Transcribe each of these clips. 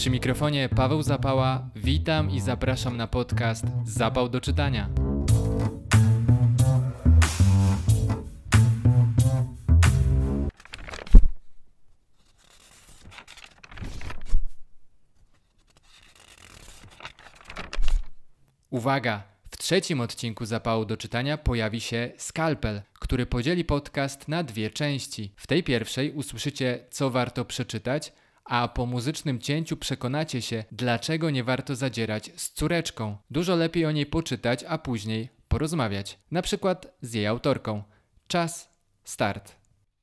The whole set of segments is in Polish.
Przy mikrofonie Paweł Zapała, witam i zapraszam na podcast Zapał do czytania. Uwaga! W trzecim odcinku Zapału do czytania pojawi się skalpel, który podzieli podcast na dwie części. W tej pierwszej usłyszycie, co warto przeczytać, a po muzycznym cięciu przekonacie się, dlaczego nie warto zadzierać z córeczką. Dużo lepiej o niej poczytać, a później porozmawiać. Na przykład z jej autorką. Czas, start.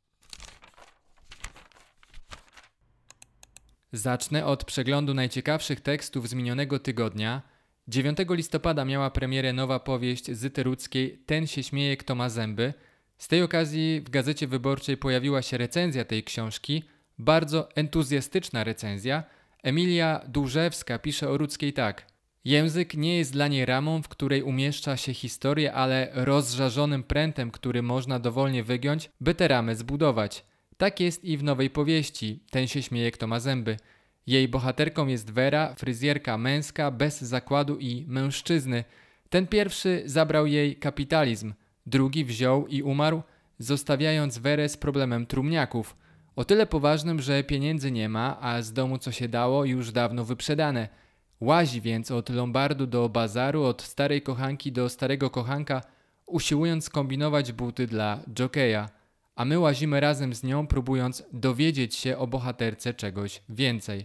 Zacznę od przeglądu najciekawszych tekstów z minionego tygodnia. 9 listopada miała premierę nowa powieść Zyty Rudzkiej Ten się śmieje, kto ma zęby. Z tej okazji w Gazecie Wyborczej pojawiła się recenzja tej książki. Bardzo entuzjastyczna recenzja. Emilia Dłużewska pisze o Rudzkiej tak. Język nie jest dla niej ramą, w której umieszcza się historię, ale rozżarzonym prętem, który można dowolnie wygiąć, by tę ramę zbudować. Tak jest i w nowej powieści Ten się śmieje, kto ma zęby. Jej bohaterką jest Wera, fryzjerka męska, bez zakładu i mężczyzny. Ten pierwszy zabrał jej kapitalizm, drugi wziął i umarł, zostawiając Werę z problemem trumniaków. O tyle poważnym, że pieniędzy nie ma, a z domu co się dało już dawno wyprzedane. Łazi więc od lombardu do bazaru, od starej kochanki do starego kochanka, usiłując skombinować buty dla dżokeja. A my łazimy razem z nią, próbując dowiedzieć się o bohaterce czegoś więcej.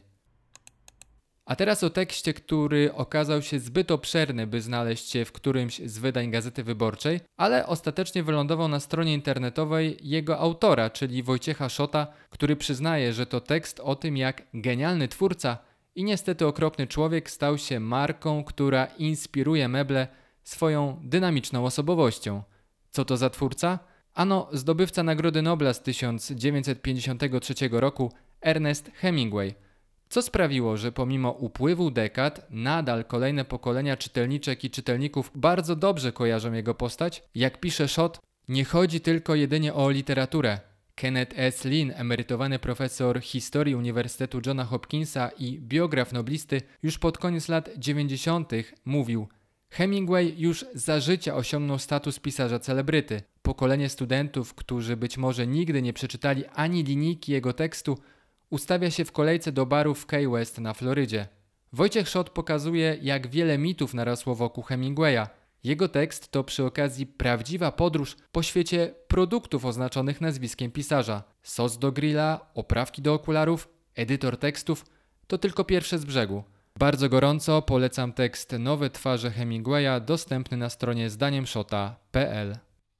A teraz o tekście, który okazał się zbyt obszerny, by znaleźć się w którymś z wydań Gazety Wyborczej, ale ostatecznie wylądował na stronie internetowej jego autora, czyli Wojciecha Szota, który przyznaje, że to tekst o tym, jak genialny twórca i niestety okropny człowiek stał się marką, która inspiruje meble swoją dynamiczną osobowością. Co to za twórca? Ano zdobywca Nagrody Nobla z 1953 roku Ernest Hemingway. Co sprawiło, że pomimo upływu dekad nadal kolejne pokolenia czytelniczek i czytelników bardzo dobrze kojarzą jego postać? Jak pisze Szot, nie chodzi tylko jedynie o literaturę. Kenneth S. Lin, emerytowany profesor historii Uniwersytetu Johna Hopkinsa i biograf noblisty, już pod koniec lat 90. mówił: Hemingway już za życia osiągnął status pisarza celebryty. Pokolenie studentów, którzy być może nigdy nie przeczytali ani linijki jego tekstu, ustawia się w kolejce do baru w Key West na Florydzie. Wojciech Szot pokazuje, jak wiele mitów narosło wokół Hemingwaya. Jego tekst to przy okazji prawdziwa podróż po świecie produktów oznaczonych nazwiskiem pisarza. Sos do grilla, oprawki do okularów, edytor tekstów to tylko pierwsze z brzegu. Bardzo gorąco polecam tekst Nowe twarze Hemingwaya, dostępny na stronie zdaniemszota.pl.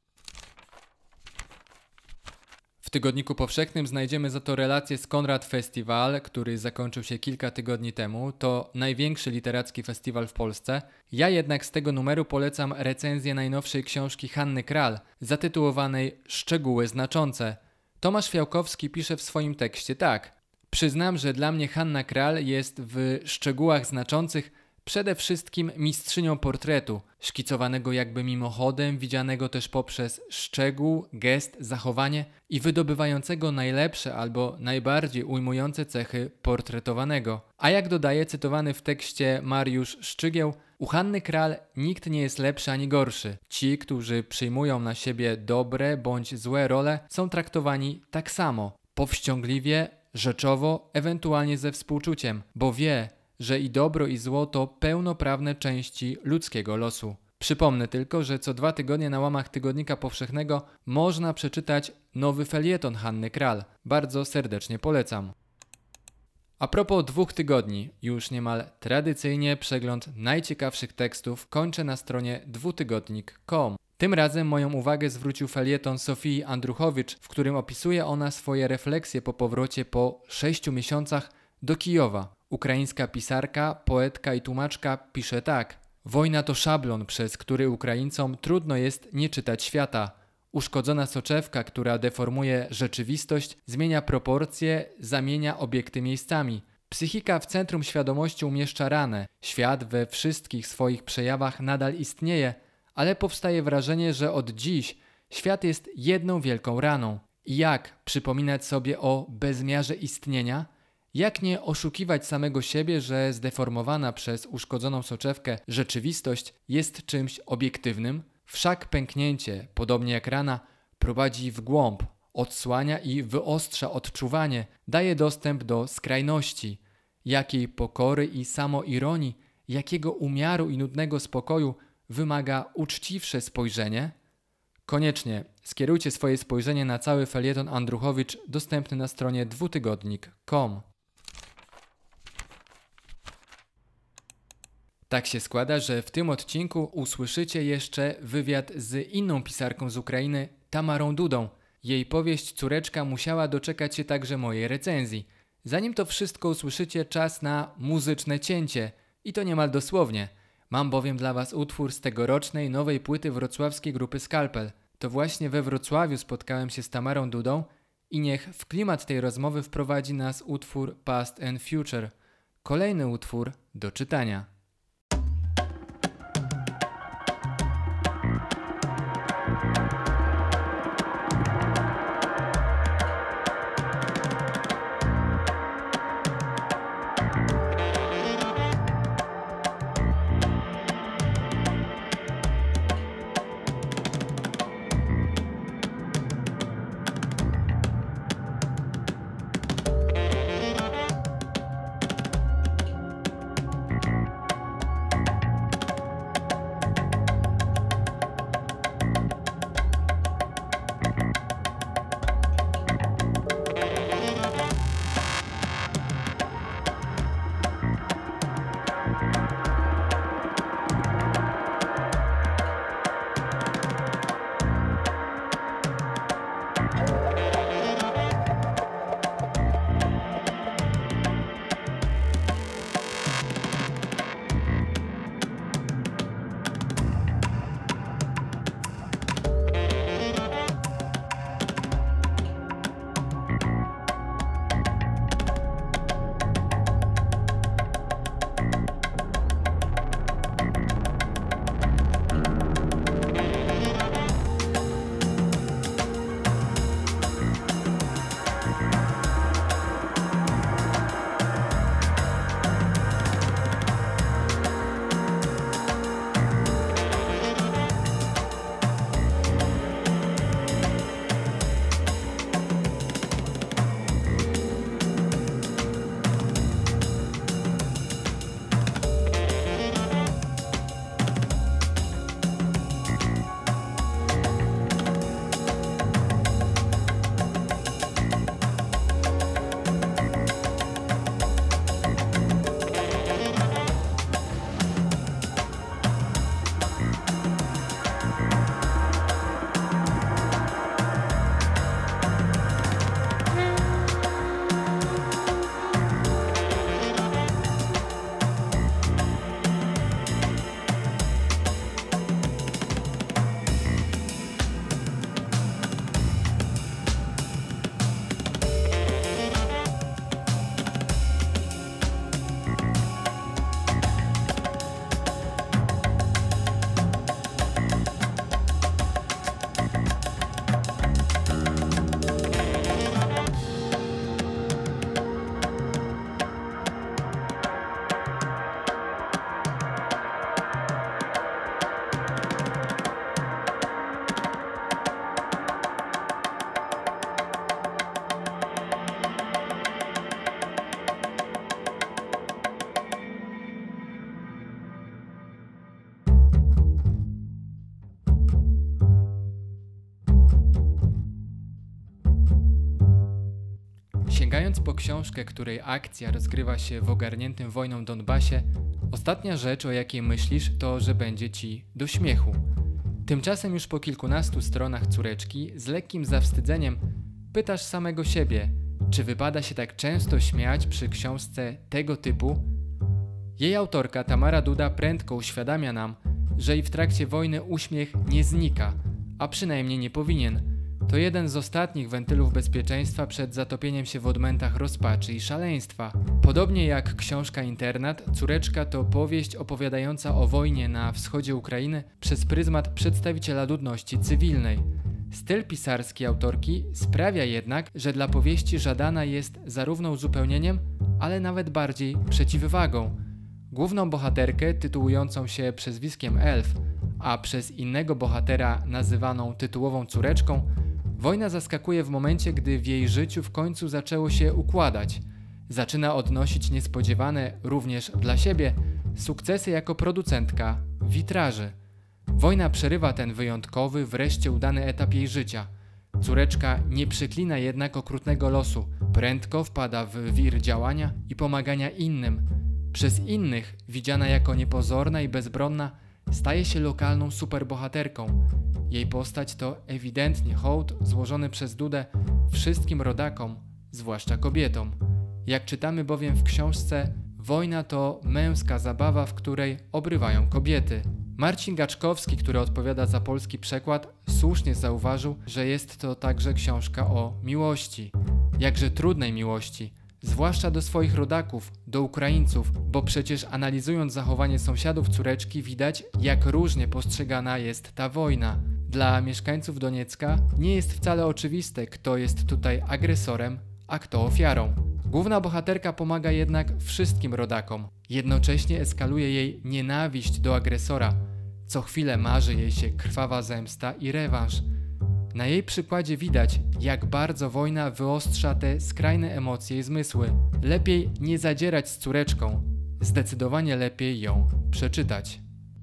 W Tygodniku Powszechnym znajdziemy za to relację z Konrad Festival, który zakończył się kilka tygodni temu. To największy literacki festiwal w Polsce. Ja jednak z tego numeru polecam recenzję najnowszej książki Hanny Kral, zatytułowanej Szczegóły znaczące. Tomasz Fiałkowski pisze w swoim tekście tak. Przyznam, że dla mnie Hanna Kral jest w szczegółach znaczących przede wszystkim mistrzynią portretu, szkicowanego jakby mimochodem, widzianego też poprzez szczegół, gest, zachowanie i wydobywającego najlepsze albo najbardziej ujmujące cechy portretowanego. A jak dodaje cytowany w tekście Mariusz Szczygieł, u Hanny Kral nikt nie jest lepszy ani gorszy. Ci, którzy przyjmują na siebie dobre bądź złe role, są traktowani tak samo, powściągliwie, rzeczowo, ewentualnie ze współczuciem, bo wie, że i dobro i zło to pełnoprawne części ludzkiego losu. Przypomnę tylko, że co 2 tygodnie na łamach Tygodnika Powszechnego można przeczytać nowy felieton Hanny Kral. Bardzo serdecznie polecam. A propos 2 tygodni, już niemal tradycyjnie przegląd najciekawszych tekstów kończę na stronie dwutygodnik.com. Tym razem moją uwagę zwrócił felieton Sofii Andruchowicz, w którym opisuje ona swoje refleksje po powrocie po 6 miesiącach do Kijowa. Ukraińska pisarka, poetka i tłumaczka pisze tak. Wojna to szablon, przez który Ukraińcom trudno jest nie czytać świata. Uszkodzona soczewka, która deformuje rzeczywistość, zmienia proporcje, zamienia obiekty miejscami. Psychika w centrum świadomości umieszcza ranę. Świat we wszystkich swoich przejawach nadal istnieje, ale powstaje wrażenie, że od dziś świat jest jedną wielką raną. I jak przypominać sobie o bezmiarze istnienia? Jak nie oszukiwać samego siebie, że zdeformowana przez uszkodzoną soczewkę rzeczywistość jest czymś obiektywnym? Wszak pęknięcie, podobnie jak rana, prowadzi w głąb, odsłania i wyostrza odczuwanie, daje dostęp do skrajności. Jakiej pokory i samoironii, jakiego umiaru i nudnego spokoju wymaga uczciwsze spojrzenie? Koniecznie skierujcie swoje spojrzenie na cały felieton Andruchowicz dostępny na stronie dwutygodnik.com. Tak się składa, że w tym odcinku usłyszycie jeszcze wywiad z inną pisarką z Ukrainy, Tamarą Dudą. Jej powieść Córeczka musiała doczekać się także mojej recenzji. Zanim to wszystko usłyszycie, czas na muzyczne cięcie. I to niemal dosłownie. Mam bowiem dla Was utwór z tegorocznej nowej płyty wrocławskiej grupy Skalpel. To właśnie we Wrocławiu spotkałem się z Tamarą Dudą i niech w klimat tej rozmowy wprowadzi nas utwór Past and Future. Kolejny utwór do czytania. Sięgając po książkę, której akcja rozgrywa się w ogarniętym wojną Donbasie, ostatnia rzecz, o jakiej myślisz, to, że będzie ci do śmiechu. Tymczasem już po kilkunastu stronach Córeczki z lekkim zawstydzeniem pytasz samego siebie, czy wypada się tak często śmiać przy książce tego typu? Jej autorka Tamara Duda prędko uświadamia nam, że i w trakcie wojny uśmiech nie znika, a przynajmniej nie powinien. To jeden z ostatnich wentylów bezpieczeństwa przed zatopieniem się w odmętach rozpaczy i szaleństwa. Podobnie jak książka Internat, Córeczka to powieść opowiadająca o wojnie na wschodzie Ukrainy przez pryzmat przedstawiciela ludności cywilnej. Styl pisarski autorki sprawia jednak, że dla powieści żadana jest zarówno uzupełnieniem, ale nawet bardziej przeciwwagą. Główną bohaterkę, tytułującą się przezwiskiem Elf, a przez innego bohatera nazywaną tytułową córeczką, wojna zaskakuje w momencie, gdy w jej życiu w końcu zaczęło się układać. Zaczyna odnosić niespodziewane, również dla siebie, sukcesy jako producentka witraży. Wojna przerywa ten wyjątkowy, wreszcie udany etap jej życia. Córeczka nie przyklina jednak okrutnego losu, prędko wpada w wir działania i pomagania innym. Przez innych, widziana jako niepozorna i bezbronna, staje się lokalną superbohaterką. Jej postać to ewidentnie hołd złożony przez Dudę wszystkim rodakom, zwłaszcza kobietom. Jak czytamy bowiem w książce, wojna to męska zabawa, w której obrywają kobiety. Marcin Gaczkowski, który odpowiada za polski przekład, słusznie zauważył, że jest to także książka o miłości. Jakże trudnej miłości, zwłaszcza do swoich rodaków, do Ukraińców, bo przecież analizując zachowanie sąsiadów córeczki widać, jak różnie postrzegana jest ta wojna. Dla mieszkańców Doniecka nie jest wcale oczywiste, kto jest tutaj agresorem, a kto ofiarą. Główna bohaterka pomaga jednak wszystkim rodakom. Jednocześnie eskaluje jej nienawiść do agresora. Co chwilę marzy jej się krwawa zemsta i rewanż. Na jej przykładzie widać, jak bardzo wojna wyostrza te skrajne emocje i zmysły. Lepiej nie zadzierać z córeczką. Zdecydowanie lepiej ją przeczytać.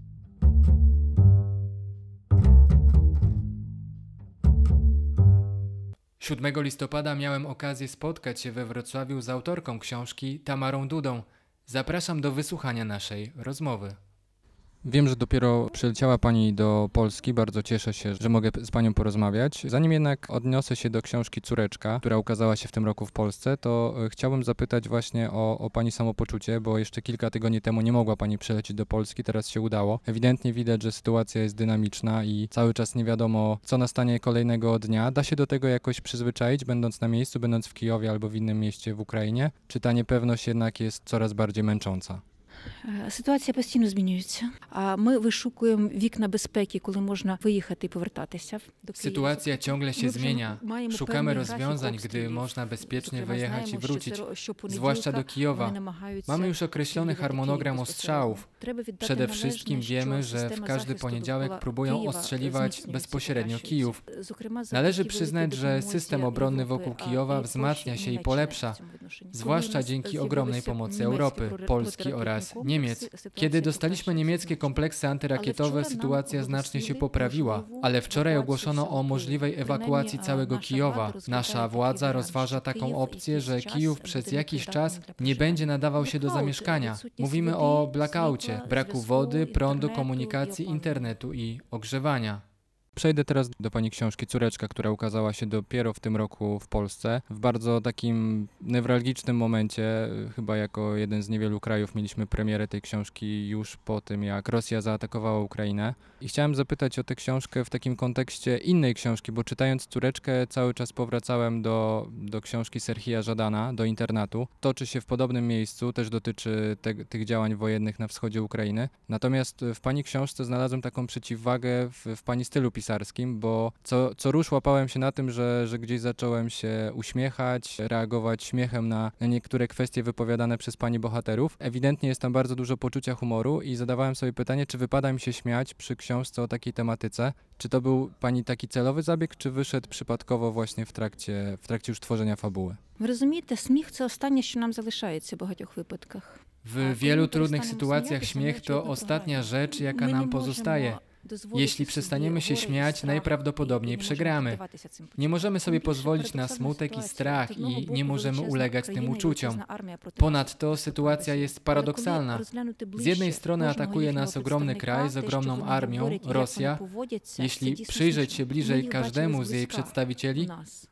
Siódmego listopada miałem okazję spotkać się we Wrocławiu z autorką książki Tamarą Dudą. Zapraszam do wysłuchania naszej rozmowy. Wiem, że dopiero przyleciała Pani do Polski, bardzo cieszę się, że mogę z Panią porozmawiać. Zanim jednak odniosę się do książki Córeczka, która ukazała się w tym roku w Polsce, to chciałbym zapytać właśnie o Pani samopoczucie, bo jeszcze kilka tygodni temu nie mogła Pani przylecieć do Polski, teraz się udało. Ewidentnie widać, że sytuacja jest dynamiczna i cały czas nie wiadomo, co nastanie kolejnego dnia. Da się do tego jakoś przyzwyczaić, będąc na miejscu, będąc w Kijowie albo w innym mieście w Ukrainie? Czy ta niepewność jednak jest coraz bardziej męcząca? Ситуація постійно змінюється. Ми вишукуємо вікна безпеки, коли можна виїхати і повертатися до Києва. Sytuacja ciągle się zmienia. Szukamy rozwiązań, gdy można bezpiecznie wyjechać i wrócić, zwłaszcza do Kijowa. Mamy już określony harmonogram ostrzałów. Przede wszystkim wiemy, że w każdy poniedziałek próbują ostrzeliwać bezpośrednio Kijów. Należy przyznać, że system obronny wokół Kijowa wzmacnia się i polepsza, zwłaszcza dzięki ogromnej pomocy Europy, Polski oraz Niemiec. Kiedy dostaliśmy niemieckie kompleksy antyrakietowe, sytuacja znacznie się poprawiła, ale wczoraj ogłoszono o możliwej ewakuacji całego Kijowa. Nasza władza rozważa taką opcję, że Kijów przez jakiś czas nie będzie nadawał się do zamieszkania. Mówimy o blackoutie, braku wody, prądu, komunikacji, internetu i ogrzewania. Przejdę teraz do Pani książki Córeczka, która ukazała się dopiero w tym roku w Polsce. W bardzo takim newralgicznym momencie, chyba jako jeden z niewielu krajów mieliśmy premierę tej książki już po tym, jak Rosja zaatakowała Ukrainę. I chciałem zapytać o tę książkę w takim kontekście innej książki, bo czytając Córeczkę cały czas powracałem do książki Serhija Żadana, do internatu. Toczy się w podobnym miejscu, też dotyczy tych działań wojennych na wschodzie Ukrainy. Natomiast w Pani książce znalazłem taką przeciwwagę w Pani stylu pisarskim, bo co rusz łapałem się na tym, że gdzieś zacząłem się uśmiechać, reagować śmiechem na niektóre kwestie wypowiadane przez Pani bohaterów. Ewidentnie jest tam bardzo dużo poczucia humoru i zadawałem sobie pytanie, czy wypada mi się śmiać przy książce o takiej tematyce. Czy to był Pani taki celowy zabieg, czy wyszedł przypadkowo właśnie w trakcie już tworzenia fabuły? Ви розумієте, сміх – це останнє, що нам залишається в багатьох випадках. W wielu trudnych sytuacjach śmiech to ostatnia rzecz, jaka nam pozostaje. Jeśli przestaniemy się śmiać, najprawdopodobniej przegramy. Nie możemy sobie pozwolić na smutek i strach i nie możemy ulegać tym uczuciom. Ponadto sytuacja jest paradoksalna. Z jednej strony atakuje nas ogromny kraj z ogromną armią, Rosja. Jeśli przyjrzeć się bliżej każdemu z jej przedstawicieli,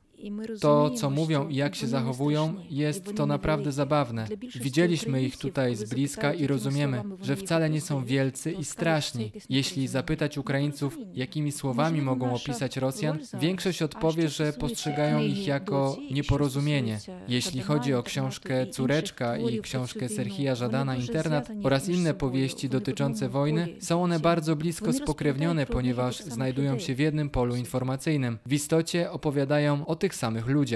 to, co mówią i jak się zachowują, jest to naprawdę zabawne. Widzieliśmy ich tutaj z bliska i rozumiemy, że wcale nie są wielcy i straszni. Jeśli zapytać Ukraińców, jakimi słowami mogą opisać Rosjan, większość odpowie, że postrzegają ich jako nieporozumienie. Jeśli chodzi o książkę Córeczka i książkę Serhija Żadana Internat oraz inne powieści dotyczące wojny, są one bardzo blisko spokrewnione, ponieważ znajdują się w jednym polu informacyjnym. W istocie opowiadają o tych samych ludziach.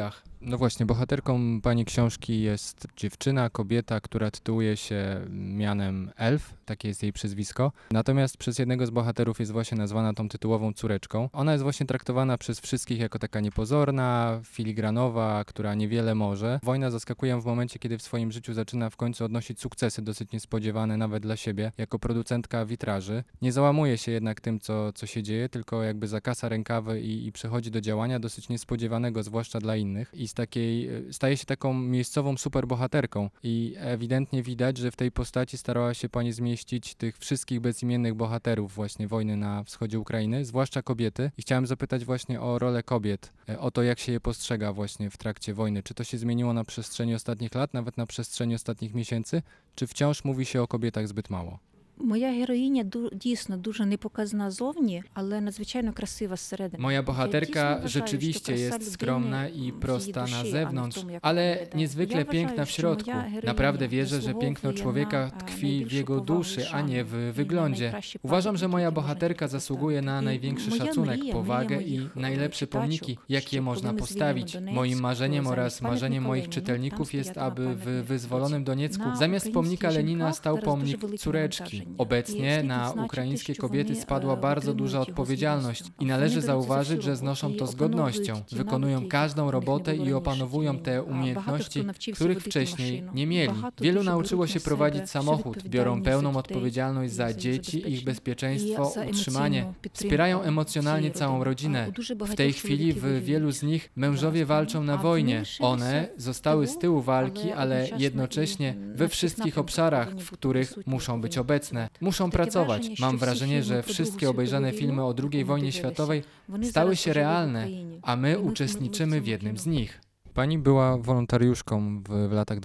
No właśnie, bohaterką pani książki jest dziewczyna, kobieta, która tytułuje się mianem Elf, takie jest jej przyzwisko. Natomiast przez jednego z bohaterów jest właśnie nazwana tą tytułową córeczką. Ona jest właśnie traktowana przez wszystkich jako taka niepozorna, filigranowa, która niewiele może. Wojna zaskakuje ją w momencie, kiedy w swoim życiu zaczyna w końcu odnosić sukcesy dosyć niespodziewane nawet dla siebie, jako producentka witraży. Nie załamuje się jednak tym, co się dzieje, tylko jakby zakasa rękawy i przechodzi do działania dosyć niespodziewanego, zwłaszcza dla innych. I staje się taką miejscową superbohaterką i ewidentnie widać, że w tej postaci starała się pani zmieścić tych wszystkich bezimiennych bohaterów właśnie wojny na wschodzie Ukrainy, zwłaszcza kobiety. I chciałem zapytać właśnie o rolę kobiet, o to, jak się je postrzega właśnie w trakcie wojny. Czy to się zmieniło na przestrzeni ostatnich lat, nawet na przestrzeni ostatnich miesięcy, czy wciąż mówi się o kobietach zbyt mało? Моя героїня дійсно дуже непоказна зовні, але надзвичайно красива зсередини. Moja bohaterka Я дійсно rzeczywiście вважаю, що jest краса skromna людини i в prosta її na душі, zewnątrz, а не в тому, як ale вона виглядає. niezwykle Я piękna вважаю, w що środku. моя героїня Naprawdę wierzę, że piękno заслуговує człowieka на, tkwi w найбільшу jego повагу duszy, і a nie шану, w і wyglądzie. найкращі Uważam, że пам'ятники, moja які bohaterka можна zasługuje na поставити. największy Моя szacunek, мрія, powagę мрія i моїх najlepsze pomniki, читачок, jakie щоб można коли ми postawić. звільнимо Moim Донецьк, marzeniem oraz замість marzeniem пам'ятника moich Леніну, czytelników там jest, стояла aby w пам'ятник wyzwolonym Леніну. Doniecku Na zamiast ukraińskich pomnika Lenina żenkach stał teraz pomnik дуже велике córeczki. навантаження. Obecnie I na wstyd відзначити, ukraińskie що kobiety вони, spadła bardzo отримують duża його з odpowiedzialność гідністю. i należy Вони беруть zauważyć, за że siłą znoszą і to z опановують godnością, ті wykonują навики, każdą яких у них robotę не було i раніше opanowują в te житті. Багато umiejętności, хто навчився których водити wcześniej машину. nie mieli. Багато Wielu дуже nauczyło беруть się на себе prowadzić всю samochód, biorą відповідальність pełną за дітей odpowiedzialność і za за dzieci, ich забезпечення. bezpieczeństwo, I za utrzymanie. емоційну підтримку Wspierają emocjonalnie цієї całą родини. rodzinę. У дуже W багатьох tej chwili чоловіків w wielu воюють z nich mężowie зараз, walczą na а вони wojnie. лишилися One zostały z tyłu walki, ale ale jednocześnie jednocześnie i we na wszystkich wszystkich obszarach, powinni w być których присутні, muszą być powinni obecne. pracować. Muszą Takie pracować. wrażenie, Mam що всі wrażenie, фільми że про wszystkie Другу obejrzane світову filmy війну, o II яку ми wojnie дивилися, światowej вони stały зараз się живуть в realne, Україні. a my I my uczestniczymy w w jednym tym z nich. Pani była wolontariuszką w latach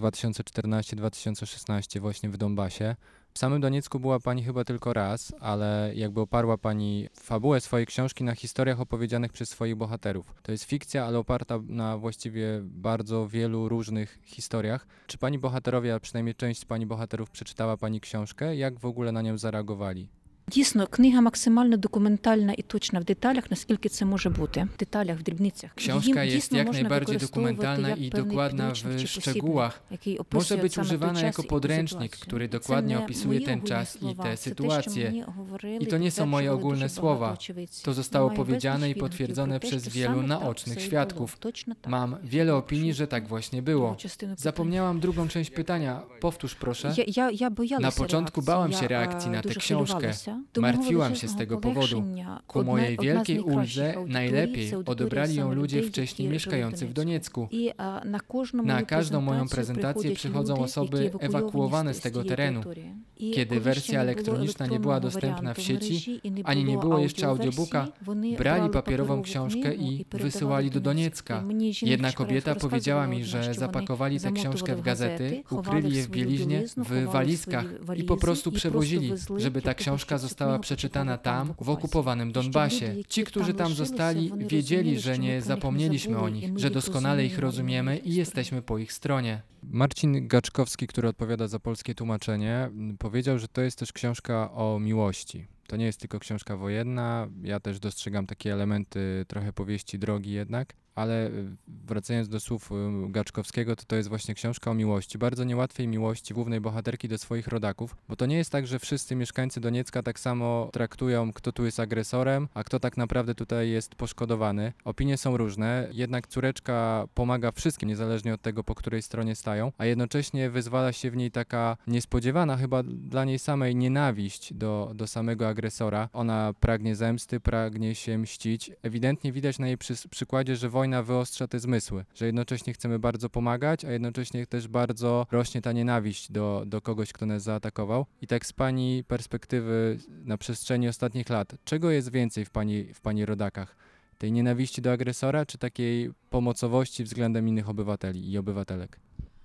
2014-2016 właśnie w Donbasie. W samym Doniecku była pani chyba tylko raz, ale jakby oparła pani fabułę swojej książki na historiach opowiedzianych przez swoich bohaterów. To jest fikcja, ale oparta na właściwie bardzo wielu różnych historiach. Czy pani bohaterowie, a przynajmniej część z pani bohaterów przeczytała pani książkę? Jak w ogóle na nią zareagowali? Дійсно, книга максимально документальна і точна в деталях, наскільки це може бути. В деталях, в дрібницях. Książka Її jest дійсно jak можна najbardziej використовувати dokumentalna як i певний dokładna підручник w чи szczegółach. посібник, який Może описує być саме той używana час jako і ту podręcznik, ситуацію. który Це dokładnie не opisuje мої ten ogólні czas i слова, te це те, що sytuacje. мені говорили I to nie są moje підтверджували ogólne дуже słowa. багато очевидців. To zostało Маю безліч powiedziane i відгуків potwierdzone про те, przez що wielu саме так naocznych все і świadków. було. Точно так. Mam wiele opinii, że tak właśnie było. Другу частину питання. Zapomniałam drugą część pytania. Powtórz proszę. Я боялася Na początku реакції. bałam się Я, reakcji na tę дуже książkę. хвилювалася. До мого Martwiłam się z величезного tego powodu. полегшення Ku одна mojej з wielkiej найкращих uldze аудиторій najlepiej це аудиторія odebrali ją саме ludzie людей, wcześniej які mieszkający жили w Doniecku. І на кожну Na мою każdą moją презентацію prezentację приходять przychodzą люди, osoby які ewakuowane z з tego тієї terenu. території. І Kiedy коли ще wersja не було elektroniczna nie była електронного dostępna w варіанту sieci, мережі і не ani nie było jeszcze аудіоверсії, audiobooka, вони brali брали papierową паперову książkę книгу i передавали wysyłali do Донецьк. Doniecka. І мені жінка Jedna вчора kobieta powiedziała mi, розказувала, że що вони zapakowali tę książkę замотували w в gazety, газети, ukryli ховали je в w свою bieliźnie, білизну, w ховали в walizkach свої i валізи po prostu і przewozili, везли żeby ta для того, książka щоб цю została книгу przeczytana почитали там, tam, в w okupowanym Донбасі. Donbasie. Щоб люди, Ci, які którzy tam лишилися, zostali, вони wiedzieli, розуміли, że що ми nie про них не zapomnieliśmy o забули, nich, і ми że їх doskonale ich розуміємо, rozumiemy їх i історію. jesteśmy po ich stronie. Marcin Gaczkowski, który odpowiada za polskie tłumaczenie, powiedział, że to jest też książka o miłości. To nie jest tylko książka wojenna, ja też dostrzegam takie elementy trochę powieści drogi jednak, ale wracając do słów Gaczkowskiego, to jest właśnie książka o miłości, bardzo niełatwej miłości głównej bohaterki do swoich rodaków, bo to nie jest tak, że wszyscy mieszkańcy Doniecka tak samo traktują, kto tu jest agresorem, a kto tak naprawdę tutaj jest poszkodowany. Opinie są różne, jednak córeczka pomaga wszystkim, niezależnie od tego, po której stronie stają, a jednocześnie wyzwala się w niej taka niespodziewana chyba dla niej samej nienawiść do samego agresora. Ona pragnie zemsty, pragnie się mścić. Ewidentnie widać na jej przykładzie, że wojna wyostrza te zmysły, że jednocześnie chcemy bardzo pomagać, a jednocześnie też bardzo rośnie ta nienawiść do kogoś, kto nas zaatakował. I tak z pani perspektywy na przestrzeni ostatnich lat, czego jest więcej w pani rodakach? Tej nienawiści do agresora, czy takiej pomocowości względem innych obywateli i obywatelek?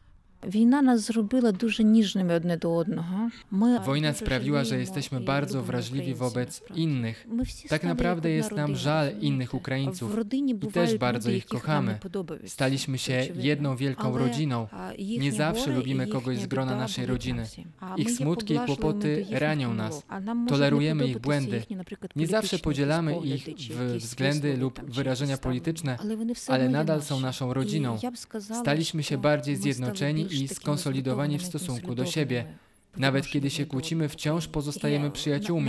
Wojna nas zrobiła дуже ніжними одне до одного. Wojna sprawiła, że jesteśmy bardzo wrażliwi wobec innych. Tak naprawdę jest nam żal innych Ukraińców i też bardzo ich kochamy. Staliśmy się jedną wielką rodziną. Nie zawsze lubimy kogoś z grona naszej rodziny. Ich smutki i kłopoty ranią nas. Tolerujemy ich błędy. Nie zawsze podzielamy ich w względy lub wyrażenia polityczne, ale nadal są naszą rodziną. Staliśmy się bardziej zjednoczeni i skonsolidowani w stosunku do siebie. Nawet kiedy się kłócimy, wciąż pozostajemy przyjaciółmi.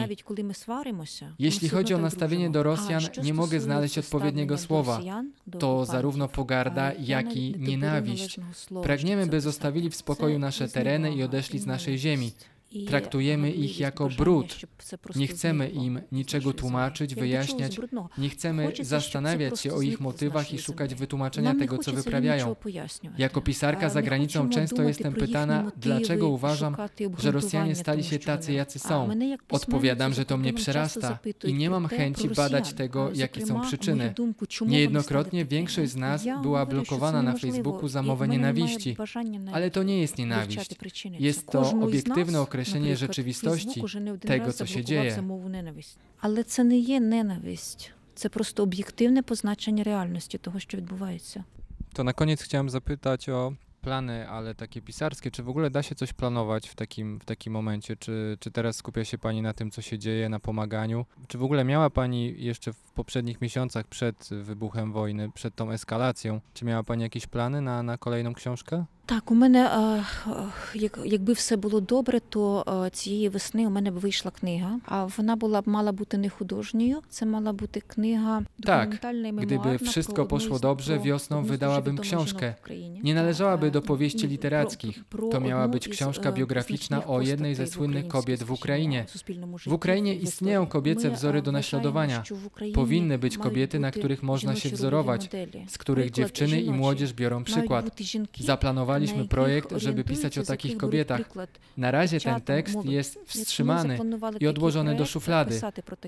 Jeśli chodzi o nastawienie do Rosjan, nie mogę znaleźć odpowiedniego słowa. To zarówno pogarda, jak i nienawiść. Pragniemy, by zostawili w spokoju nasze tereny i odeszli z naszej ziemi. Traktujemy ich jako brud. Nie chcemy im niczego tłumaczyć, wyjaśniać. Nie chcemy zastanawiać się o ich motywach i szukać wytłumaczenia tego, co wyprawiają. Jako pisarka za granicą często jestem pytana, dlaczego uważam, że Rosjanie stali się tacy, jacy są. Odpowiadam, że to mnie przerasta i nie mam chęci badać tego, jakie są przyczyny. Niejednokrotnie większość z nas była blokowana na Facebooku za mowę nienawiści, ale to nie jest nienawiść. Jest to obiektywne określenie rzeczywistości, tego, co się dzieje. Але це не є ненависть. Це просто об'єктивне позначення реальності того, що відбувається. To na koniec chciałem zapytać o plany, ale takie pisarskie. Czy w ogóle da się coś planować w takim momencie? Czy teraz skupia się Pani na tym, co się dzieje, na pomaganiu? Czy w ogóle miała Pani jeszcze w poprzednich miesiącach przed wybuchem wojny, przed tą eskalacją, czy miała Pani jakieś plany na kolejną książkę? Так, у мене, якби все було добре, то цієї весни у мене б вийшла книга, а вона мала бути не художньою, це мала бути книга документальна і мемуарна. Gdyby wszystko poszło dobrze, wiosną wydałabym książkę. Nie należałaby do powieści literackich. To miała być książka biograficzna o jednej ze słynnych kobiet w Ukrainie. W Ukrainie istnieją kobiece wzory do naśladowania. Powinny być kobiety, na których można się wzorować, z których dziewczyny i młodzież biorą przykład. Zaplanowaliśmy projekt, żeby pisać o takich kobietach. Na razie ten tekst jest wstrzymany i odłożony do szuflady.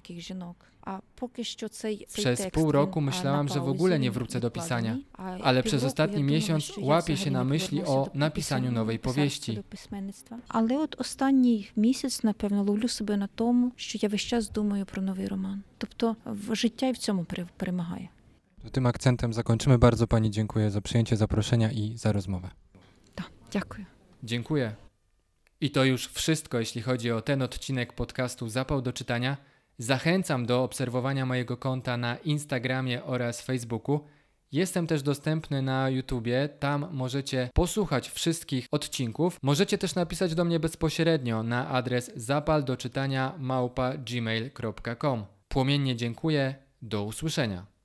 Przez pół roku myślałam, że w ogóle nie wrócę do pisania, ale przez ostatni miesiąc łapię się na myśli o napisaniu nowej powieści. Але от останній місяць, напевно, ловлю себе на тому, що я весь час думаю про новий роман. Тобто життя і в цьому перемагає. Tym akcentem zakończymy. Bardzo Pani dziękuję za przyjęcie zaproszenia i za rozmowę. Tak, dziękuję. Dziękuję. I to już wszystko, jeśli chodzi o ten odcinek podcastu Zapał do czytania. Zachęcam do obserwowania mojego konta na Instagramie oraz Facebooku. Jestem też dostępny na YouTubie, tam możecie posłuchać wszystkich odcinków. Możecie też napisać do mnie bezpośrednio na adres zapaldoczytania@gmail.com. Płomiennie dziękuję, do usłyszenia.